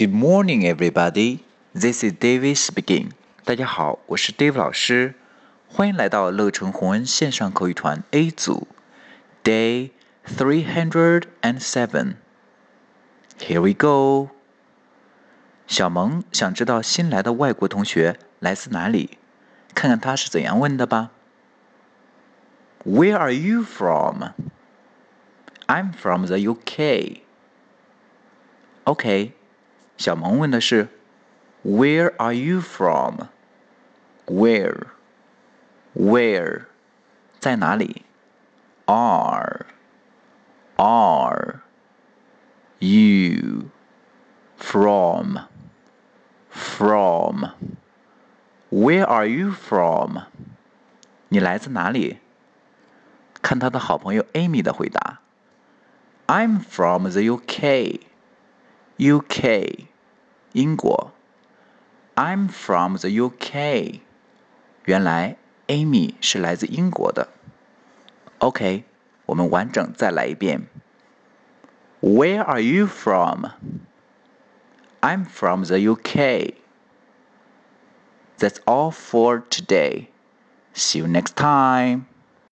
Good morning, everybody. This is David speaking. 大家好，我是 Dave 老师，欢迎来到乐成宏恩线上口语团 A 组 Day 307. Here we go. 小萌想知道新来的外国同学来自哪里，看看他是怎样问的吧。Where are you from? I'm from the UK. OK. 小萌问的是 Where are you from? Where? 在哪里 Are you from? Where are you from? 你来自哪里？看他的好朋友 Amy 的回答 I'm from the UK. UK 英国 I'm from the UK. 原来 Amy 是来自英国的。OK， 我们完整再来一遍。Where are you from? I'm from the UK. That's all for today. See you next time.